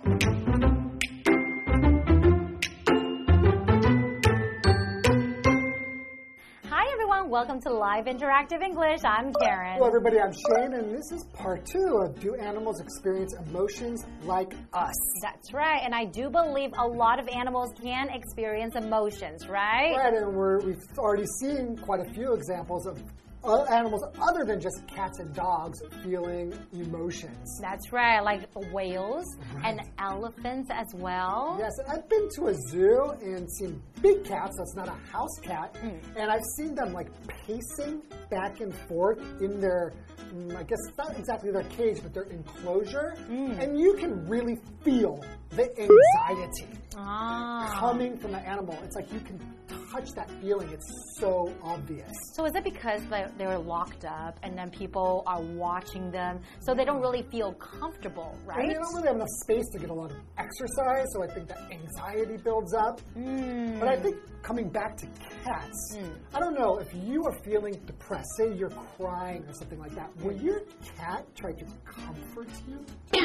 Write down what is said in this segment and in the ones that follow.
Welcome to Live Interactive English. I'm Karen. Hello, everybody. I'm Shane, and this is part 2 of Do Animals Experience Emotions Like Us? That's right, and I do believe a lot of animals can experience emotions, right? Right, and we've already seen quite a few examples of animals other than just cats and dogs feeling emotions. That's right, like whales and elephants as well. Yes, I've been to a zoo and seen big cats, that's not a house cat, and I've seen them like pacing back and forth in their, I guess not exactly their cage, but their enclosure, and you can really feel the anxiety coming from the animal. It's like you can touch that feeling. It's so obvious. So is it because they're locked up and then people are watching them so they don't really feel comfortable, right? And they don't really have enough space to get a lot of exercise, so I think that anxiety builds up. But I think coming back to cats, I don't know if you are feeling depressed, say you're crying or something like that, will your cat try to comfort you?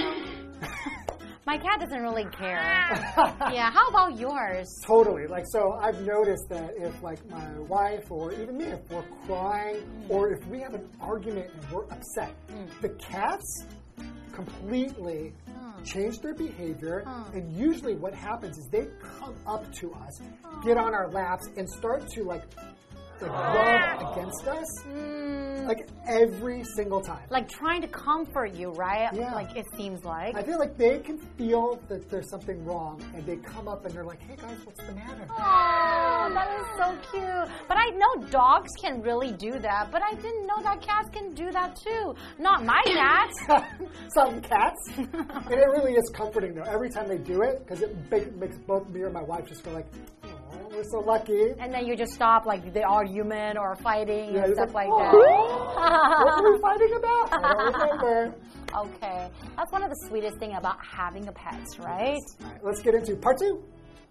My cat doesn't really care. Yeah, how about yours? Totally. Like, so I've noticed that if like my wife or even me, if we're crying or if we have an argument and we're upset, the cats completely change their behavior, and usually what happens is they come up to us, get on our laps, and start to like rub against us, like every single time. Like trying to comfort you, right? Yeah. Like it seems like. I feel like they can feel that there's something wrong, and they come up and they're like, hey guys, what's the matter? Oh, that is so cute. But I know dogs can really do that, but I didn't know that cats can do that too. Not my cat. Some cats. And it really is comforting though, every time they do it, because it makes both me and my wife just go like, we're so lucky. And then you just stop like the argument or fighting and stuff like that. What were we fighting about? I don't remember. Okay. That's one of the sweetest things about having a pet, right? All right, let's get into part 2.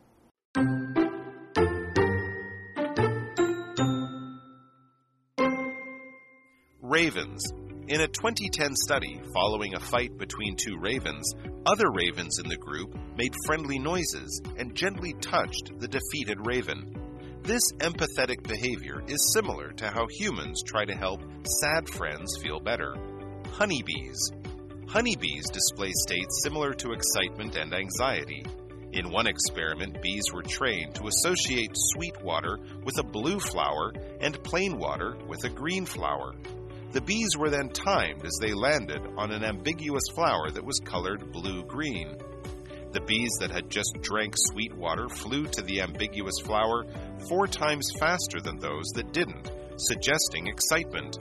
Ravens. In a 2010 study following a fight between 2 ravens, other ravens in the group made friendly noises and gently touched the defeated raven. This empathetic behavior is similar to how humans try to help sad friends feel better. Honeybees. Honeybees display states similar to excitement and anxiety. In one experiment, bees were trained to associate sweet water with a blue flower and plain water with a green flower. The bees were then timed as they landed on an ambiguous flower that was colored blue-green. The bees that had just drank sweet water flew to the ambiguous flower 4 times faster than those that didn't, suggesting excitement.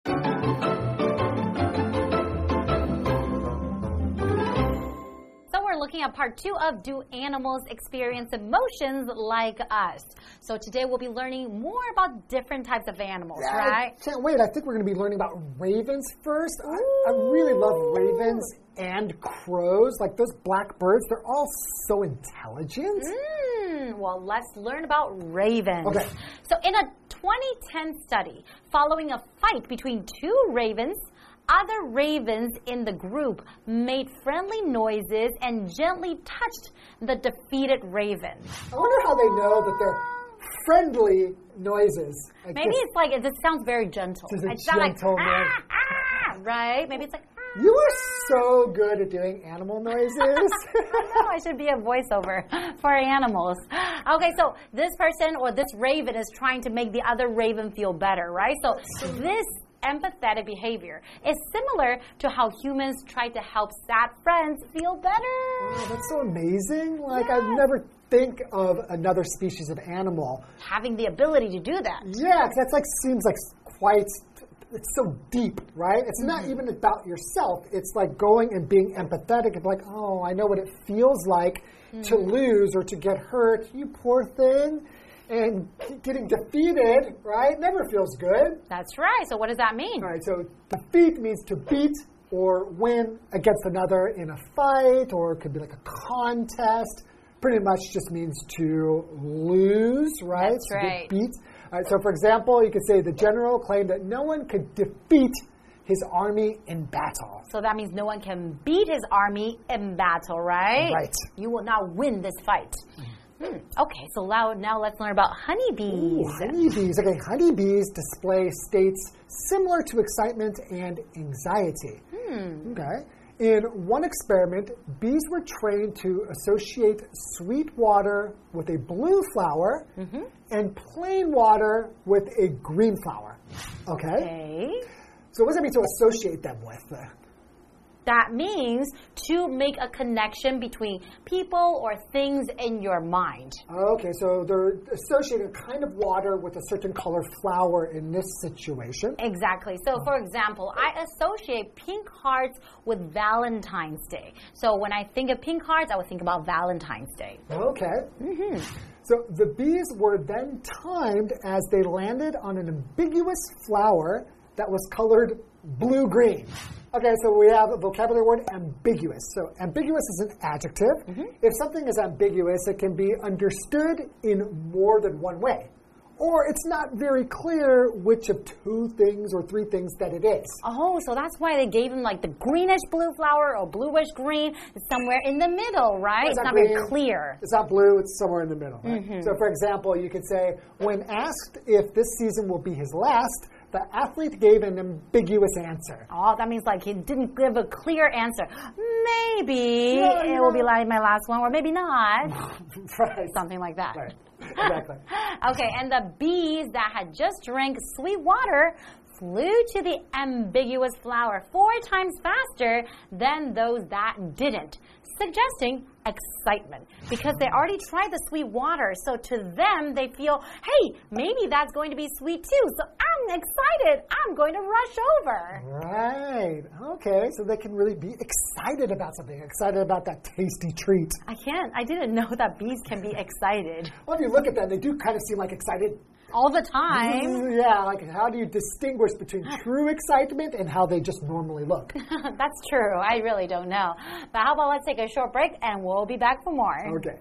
Looking at part 2 of Do Animals Experience Emotions Like Us? So today we'll be learning more about different types of animals, right? I can't wait. I think we're going to be learning about ravens first. I really love ravens and crows. Like those black birds, they're all so intelligent. Well, let's learn about ravens. Okay. So in a 2010 study, following a fight between 2 ravens, other ravens in the group made friendly noises and gently touched the defeated raven. I wonder how they know that they're friendly noises. Like maybe it's like, it just sounds very gentle. Just a it's not like, noise. Right? Maybe it's like, You are so good at doing animal noises. I know, I should be a voiceover for animals. Okay, so this person or this raven is trying to make the other raven feel better, right? So this empathetic behavior is similar to how humans try to help sad friends feel better. Wow, that's so amazing. Like, I'd never think of another species of animal having the ability to do that. Yeah, because that's like seems like quite, it's so deep, right? It's not even about yourself. It's like going and being empathetic and like, oh, I know what it feels like to lose or to get hurt. You poor thing. And getting defeated, right, never feels good. That's right. So what does that mean? All right, so defeat means to beat or win against another in a fight, or it could be like a contest. Pretty much just means to lose, right? That's right. To beat. All right, so for example, you could say the general claimed that no one could defeat his army in battle. So that means no one can beat his army in battle, right? Right. You will not win this fight. Okay, so now let's learn about honeybees. Ooh, honeybees. Okay, honeybees display states similar to excitement and anxiety. Okay. In one experiment, bees were trained to associate sweet water with a blue flower and plain water with a green flower. Okay? So what does that mean to associate them with? That means to make a connection between people or things in your mind. Okay, so they're associating a kind of water with a certain color flower in this situation. Exactly. So, for example, I associate pink hearts with Valentine's Day. So, when I think of pink hearts, I would think about Valentine's Day. Okay. So, the bees were then timed as they landed on an ambiguous flower that was colored blue-green. Okay, so we have a vocabulary word, ambiguous. So ambiguous is an adjective. If something is ambiguous, it can be understood in more than one way. Or it's not very clear which of two things or three things that it is. Oh, so that's why they gave him like the greenish blue flower or bluish green. It's somewhere in the middle, right? It's not very clear. It's not blue, it's somewhere in the middle. Right? So for example, you could say, when asked if this season will be his last, the athlete gave an ambiguous answer. Oh, that means like he didn't give a clear answer. Maybe it will be like my last one, or maybe not. Right. Something like that. Right. Exactly. Okay, and the bees that had just drank sweet water flew to the ambiguous flower 4 times faster than those that didn't, suggesting excitement because they already tried the sweet water. So to them, they feel, hey, maybe that's going to be sweet too. So I'm excited. I'm going to rush over. Right. Okay. So they can really be excited about something, excited about that tasty treat. I didn't know that bees can be excited. Well, if you look at them, they do kind of seem like excited. All the time. Yeah, like how do you distinguish between true excitement and how they just normally look? That's true. I really don't know. But how about let's take a short break and we'll be back for more. Okay.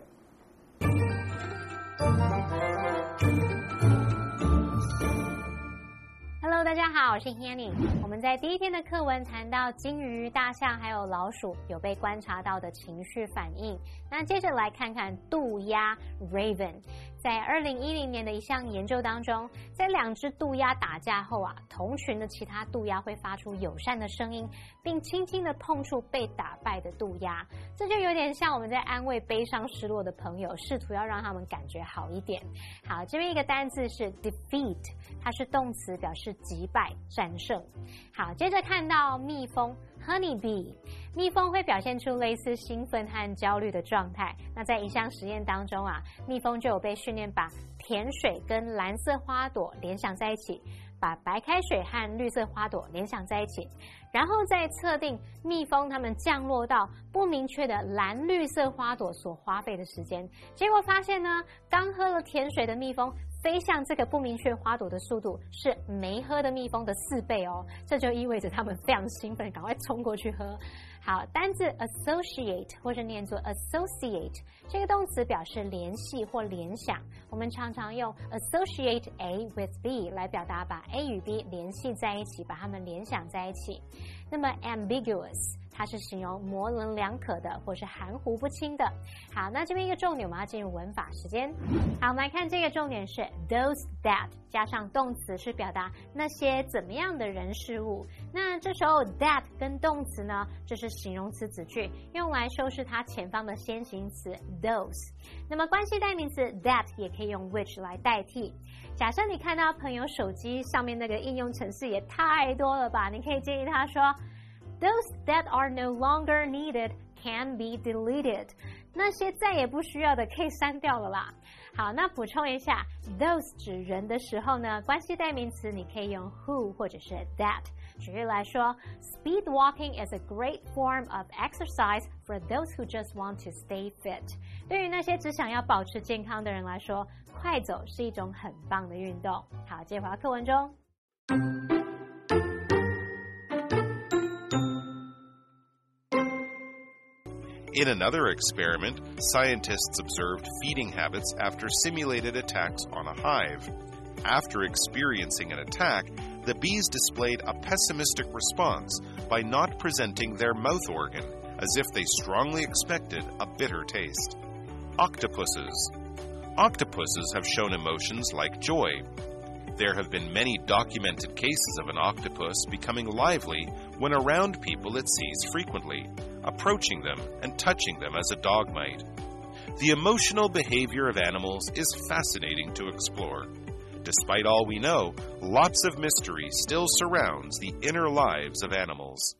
Hello， 大家好，我是 Hanny。我们在第一天的課文談到鯨魚、大象還有老鼠有被觀察到的情緒反應。那接着來看看渡鴉 Raven。在2010年的一項研究當中，在2隻渡鴉打架後啊，同群的其他渡鴉會發出友善的聲音，並輕輕的碰觸被打敗的渡鴉。這就有點像我們在安慰悲傷失落的朋友，試圖要讓他們感覺好一點。好，這邊一個單字是 defeat， 它是動詞，表示擊敗、戰勝。好，接着看到蜜蜂 honeybee， 蜜蜂會表現出類似興奮和焦慮的狀態。那在一項實驗當中啊，蜜蜂就有被訓練把甜水跟藍色花朵聯想在一起，把白開水和綠色花朵聯想在一起，然後再測定蜜蜂它們降落到不明確的藍綠色花朵所花費的時間。結果發現呢，剛喝了甜水的蜜蜂飛向這個不明確花朵的速度是沒喝的蜜蜂的4倍哦，這就意味着他們非常興奮，趕快衝過去喝。好，單字 associate 或者念作 associate， 這個動詞表示聯繫或聯想。我們常常用 associate A with B 來表達把 A 與 B 聯繫在一起，把它們聯想在一起。那麼 ambiguous， 它是形容模稜兩可的或是含糊不清的。好，那這邊一個重點，我們要進入文法時間。好，我們來看這個重點是 those that 加上動詞，是表達那些怎麼樣的人事物。那這時候 that 跟動詞呢，就是形容詞子句，用來修飾它前方的先行詞 those。那麼關係代名詞 that 也可以用 which 來代替。假設你看到朋友手機上面那個應用程式也太多了吧，你可以建議他說Those that are no longer needed can be deleted. 那些再也不需要的可以刪掉了啦。好，那補充一下 those 指人的時候呢，關係代名詞你可以用 who 或者是 that。舉例來說 Speed walking is a great form of exercise for those who just want to stay fit. 對於那些只想要保持健康的人來說，快走是一種很棒的運動。好，接着回到課文中。 In another experiment, scientists observed feeding habits after simulated attacks on a hive. After experiencing an attack, the bees displayed a pessimistic response by not presenting their mouth organ, as if they strongly expected a bitter taste. Octopuses. Octopuses have shown emotions like joy. There have been many documented cases of an octopus becoming lively when around people it sees frequently, approaching them and touching them as a dog might. The emotional behavior of animals is fascinating to explore. Despite all we know, lots of mystery still surrounds the inner lives of animals.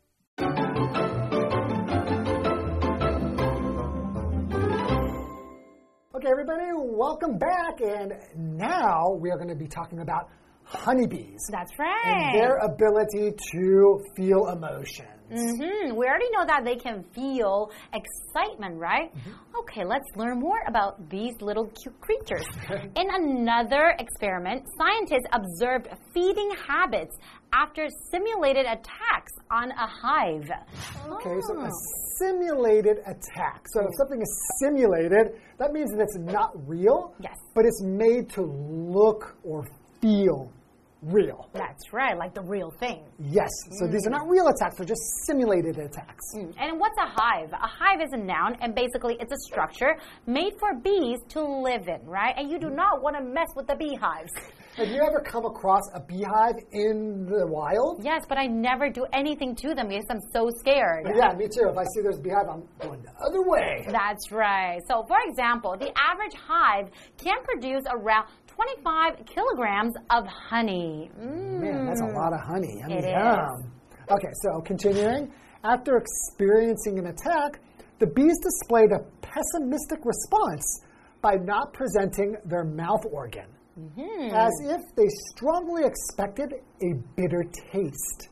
Okay, everybody, welcome back. And now we are going to be talking about honeybees. That's right. And their ability to feel emotions. We already know that they can feel excitement, right? Okay, let's learn more about these little cute creatures. In another experiment, scientists observed feeding habits after simulated attacks on a hive. Okay, so a simulated attack. So if something is simulated, that means that it's not real, Yes. but it's made to look or feel real. That's right, like the real thing. Yes, so these are not real attacks, they're just simulated attacks. And what's a hive? A hive is a noun, and basically it's a structure made for bees to live in, right? And you do not want to mess with the beehives. Have you ever come across a beehive in the wild? Yes, but I never do anything to them because I'm so scared. Yeah, me too. If I see there's a beehive, I'm going the other way. That's right. So, for example, the average hive can produce around 25 kilograms of honey. Man, that's a lot of honey. It Yum. Okay, so continuing. After experiencing an attack, the bees displayed a pessimistic response by not presenting their mouth organ, as if they strongly expected a bitter taste.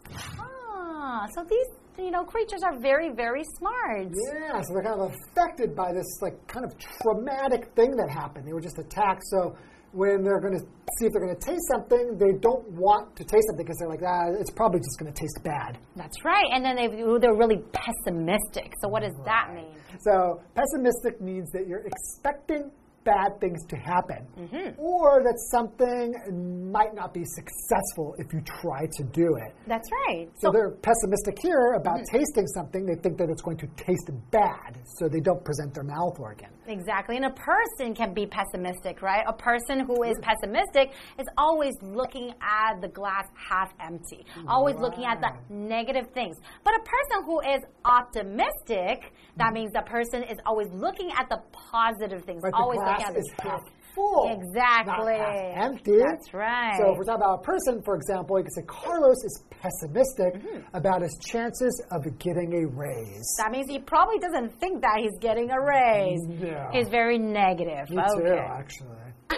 So these creatures are very, very smart. Yeah, so they're kind of affected by this kind of traumatic thing that happened. They were just attacked, so when they're going to see if they're going to taste something, they don't want to taste something because they're like, it's probably just going to taste bad. That's right. And then they're really pessimistic. So what does that mean? So pessimistic means that you're expecting bad things to happen, or that something might not be successful if you try to do it. That's right. So they're pessimistic here about tasting something. They think that it's going to taste bad, so they don't present their mouth organ. Exactly. And a person can be pessimistic, right? A person who is pessimistic is always looking at the glass half empty, always looking at the negative things. But a person who is optimistic, that means the person is always looking at the positive things, Right, always the glass looking at is half full, Exactly. not half empty. That's right. So if we're talking about a person, for example, you could say Carlos is pessimistic about his chances of getting a raise. That means he probably doesn't think that he's getting a raise. No. He's very negative. Me too, actually.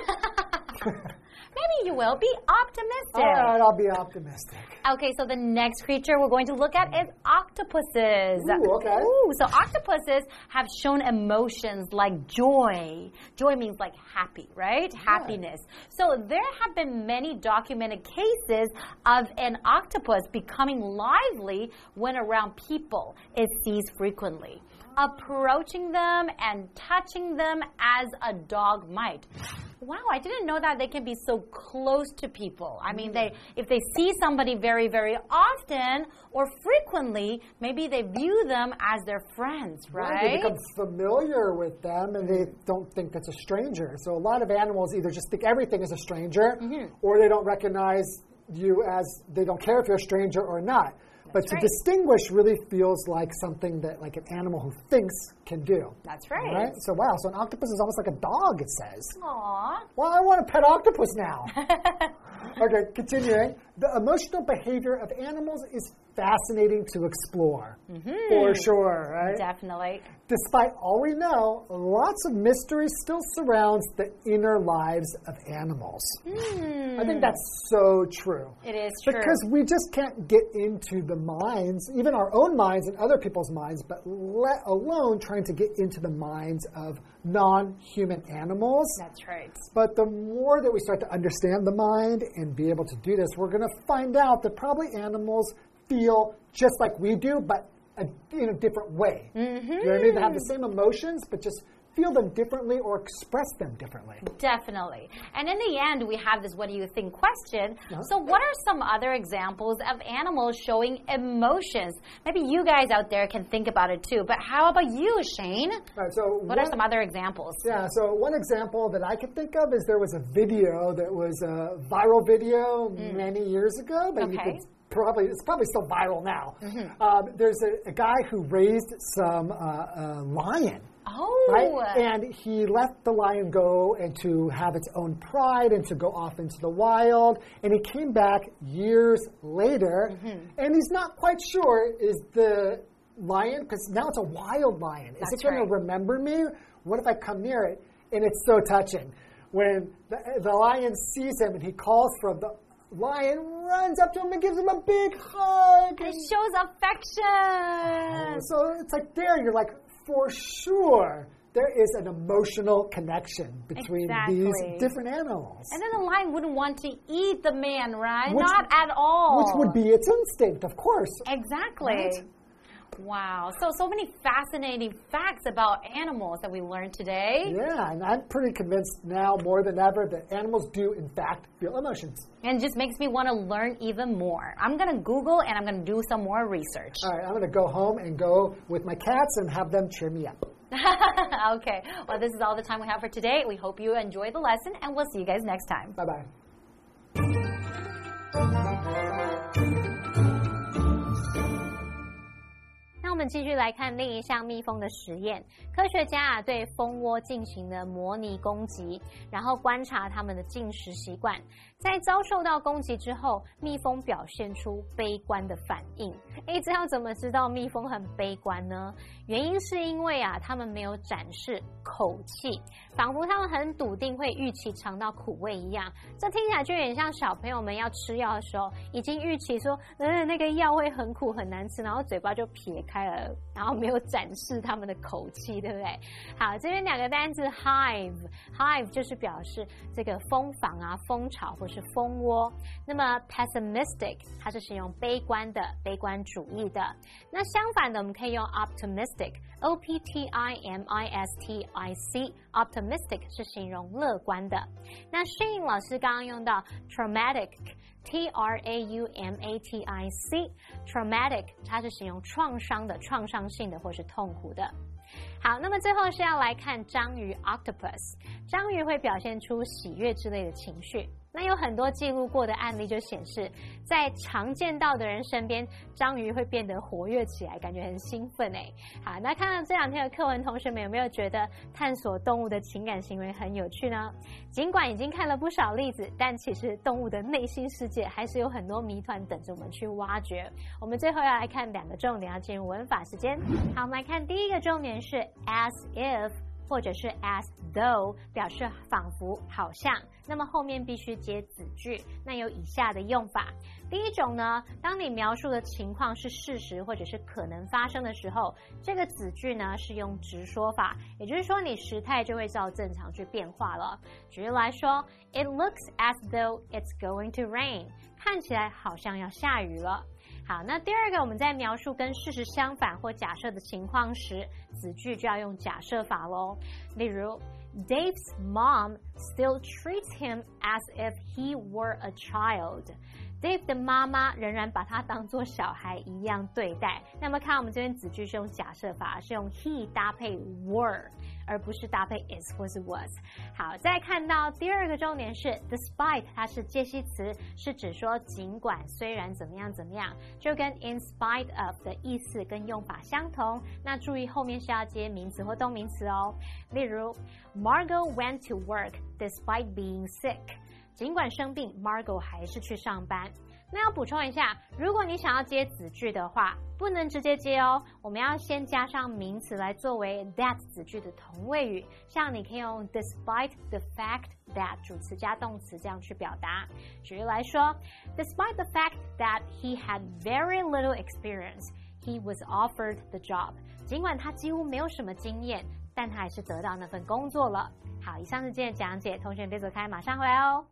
Maybe you will. Be optimistic. All right, I'll be optimistic. Okay, so the next creature we're going to look at is octopuses. Ooh, okay. So octopuses have shown emotions like joy. Joy means like happy, right? Happiness. So there have been many documented cases of an octopus becoming lively when around people it sees frequently, approaching them and touching them as a dog might. Wow, I didn't know that they can be so close to people. I mean, if they see somebody very, very often or frequently, maybe they view them as their friends, right? They become familiar with them and they don't think that's a stranger. So a lot of animals either just think everything is a stranger or they don't recognize you as, they don't care if you're a stranger or not. But to distinguish really feels like something that like an animal who thinks can do. That's right. Right? So wow, so an octopus is almost like a dog, it says. Aww. Well, I want a pet octopus now. Okay, continuing. The emotional behavior of animals is fascinating to explore. For sure, right? Definitely. Despite all we know, lots of mystery still surrounds the inner lives of animals. I think that's so true. It is true. Because we just can't get into the minds, even our own minds and other people's minds, but let alone trying to get into the minds of non-human animals. That's right. But the more that we start to understand the mind and be able to do this, we're going to find out that probably animals feel just like we do, but in a different way. You know what I mean? They have the same emotions, but just feel them differently or express them differently. Definitely. And in the end, we have this what do you think question. So what are some other examples of animals showing emotions? Maybe you guys out there can think about it too. But how about you, Shane? All right, so what are some other examples? Yeah, so one example that I could think of is there was a video that was a viral video many years ago, but you could it's probably still viral now. There's a guy who raised some lion. Oh. Right? And he let the lion go and to have its own pride and to go off into the wild. And he came back years later, and he's not quite sure, is the lion, because now it's a wild lion, is it going to remember me? What if I come near it? And it's so touching. When the lion sees him and he calls for him, the lion runs up to him and gives him a big hug. It shows affection. So it's like there, you're like, for sure, there is an emotional connection between these different animals. And then the lion wouldn't want to eat the man, right? Not at all. Which would be its instinct, of course. Exactly. Right? Wow. So many fascinating facts about animals that we learned today. Yeah, and I'm pretty convinced now more than ever that animals do, in fact, feel emotions. And it just makes me want to learn even more. I'm going to Google and I'm going to do some more research. All right, I'm going to go home and go with my cats and have them cheer me up. Okay. Well, this is all the time we have for today. We hope you enjoyed the lesson, and we'll see you guys next time. Bye-bye. 那我们继續來看另一項蜜蜂的實驗。科學家對蜂窩進行了模擬攻擊，然後觀察它們的進食習慣。在遭受到攻擊之後，蜜蜂表現出悲觀的反應。這要怎麼知道蜜蜂很悲觀呢？原因是因為它們沒有展示口氣，仿佛它們很篤定會預期嘗到苦味一樣。這聽起來就有點像小朋友們要吃藥的時候，已經預期說，那個藥會很苦很難吃，然後嘴巴就撇開了，然後沒有展示他們的口氣，對不對？好，這邊兩個單字 hive 就是表示這個蜂房啊、蜂巢或是蜂窩。那麼 pessimistic 它是形容悲觀的、悲觀主義的。那相反的，我們可以用 optimistic optimistic optimistic 是形容樂觀的。那Shane老師剛剛用到 traumatic traumatic traumatic 它是形容創傷的、創傷性的或是痛苦的。好，那麼最後是要來看章魚 octopus， 章魚會表現出喜悅之類的情緒。那有很多記錄過的案例就顯示，在常見到的人身邊，章魚會變得活躍起來，感覺很興奮哎。好，那看到這兩天的課文，同學們有沒有覺得探索動物的情感行為很有趣呢？儘管已經看了不少例子，但其實動物的內心世界還是有很多謎團等着我們去挖掘。我們最後要來看兩個重點，要進入文法時間。好，我們來看第一個重點是 as if。或者是 as though 表示仿佛好像，那麼後面必須接子句，那有以下的用法。第一種呢，當你描述的情況是事實或者是可能發生的時候，這個子句呢是用直說法，也就是說你時態就會照正常去變化了。舉例來說 ，It looks as though it's going to rain， 看起來好像要下雨了。好，那第二個，我們在描述跟事實相反或假設的情況時，子句就要用假設法咯。例如 ，Dave's mom still treats him as if he were a child。Dave 的媽媽仍然把他當作小孩一樣對待。那麼看我們這邊子句是用假設法，是用 he 搭配 were， 而不是搭配 is 或是 was。好，再看到第二個重點是 despite， 它是介系詞，是指說儘管、雖然怎麼樣怎麼樣，就跟 in spite of 的意思跟用法相同。那注意後面是要接名詞或動名詞哦。例如 Margot went to work despite being sick。儘管生病 ，Margot 還是去上班。那要補充一下，如果你想要接子句的話，不能直接接哦，我們要先加上名詞來作為 that 子句的同位語。像你可以用 despite the fact that 主詞加動詞這樣去表達。舉例來說 ，Despite the fact that he had very little experience, he was offered the job。儘管他幾乎沒有什麼經驗，但他還是得到那份工作了。好，以上是今天的講解，同學別走開，馬上回來哦。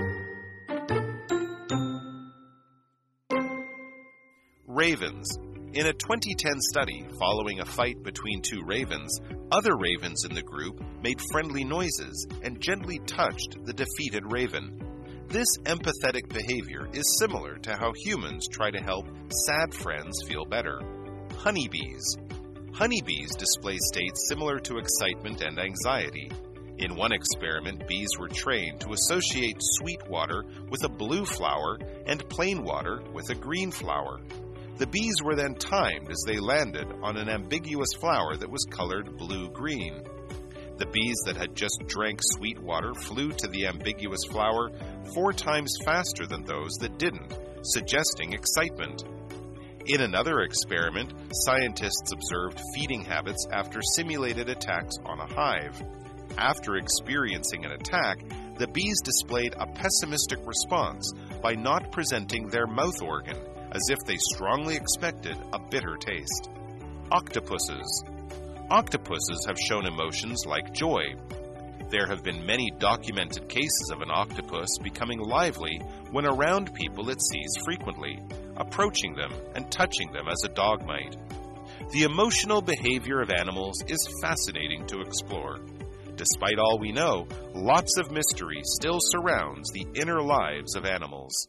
Ravens. In a 2010 study following a fight between two ravens, other ravens in the group made friendly noises and gently touched the defeated raven. This empathetic behavior is similar to how humans try to help sad friends feel better. Honeybees. Honeybees display states similar to excitement and anxiety. In one experiment, bees were trained to associate sweet water with a blue flower and plain water with a green flower. The bees were then timed as they landed on an ambiguous flower that was colored blue-green. The bees that had just drank sweet water flew to the ambiguous flower 4 times faster than those that didn't, suggesting excitement. In another experiment, scientists observed feeding habits after simulated attacks on a hive. After experiencing an attack, the bees displayed a pessimistic response by not presenting their mouth organ, as if they strongly expected a bitter taste. Octopuses. Octopuses have shown emotions like joy. There have been many documented cases of an octopus becoming lively when around people it sees frequently, approaching them and touching them as a dog might. The emotional behavior of animals is fascinating to explore. Despite all we know, lots of mystery still surrounds the inner lives of animals.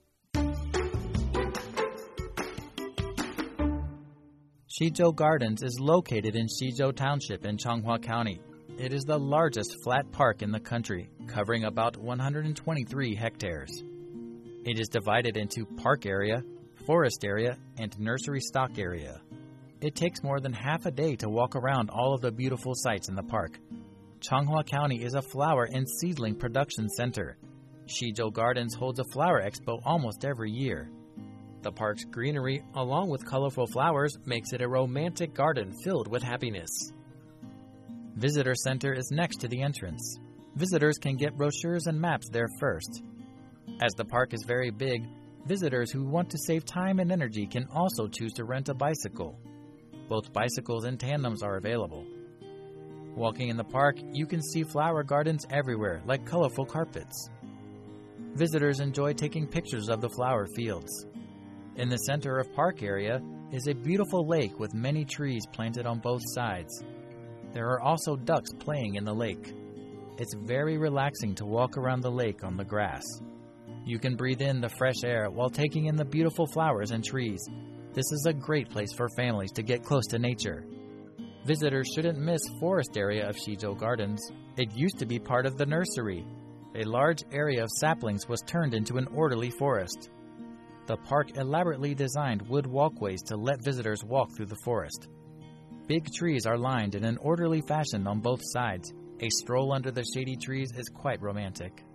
Shizhou Gardens is located in Shizhou Township in Changhua County. It is the largest flat park in the country, covering about 123 hectares. It is divided into park area, forest area, and nursery stock area. It takes more than half a day to walk around all of the beautiful sites in the park. Changhua County is a flower and seedling production center. Shizhou Gardens holds a flower expo almost every year. The park's greenery, along with colorful flowers, makes it a romantic garden filled with happiness. Visitor Center is next to the entrance. Visitors can get brochures and maps there first. As the park is very big, visitors who want to save time and energy can also choose to rent a bicycle. Both bicycles and tandems are available. Walking in the park, you can see flower gardens everywhere, like colorful carpets. Visitors enjoy taking pictures of the flower fields. In the center of park area is a beautiful lake with many trees planted on both sides. There are also ducks playing in the lake. It's very relaxing to walk around the lake on the grass. You can breathe in the fresh air while taking in the beautiful flowers and trees. This is a great place for families to get close to nature. Visitors shouldn't miss forest area of Shizhou Gardens. It used to be part of the nursery. A large area of saplings was turned into an orderly forest. The park elaborately designed wood walkways to let visitors walk through the forest. Big trees are lined in an orderly fashion on both sides. A stroll under the shady trees is quite romantic.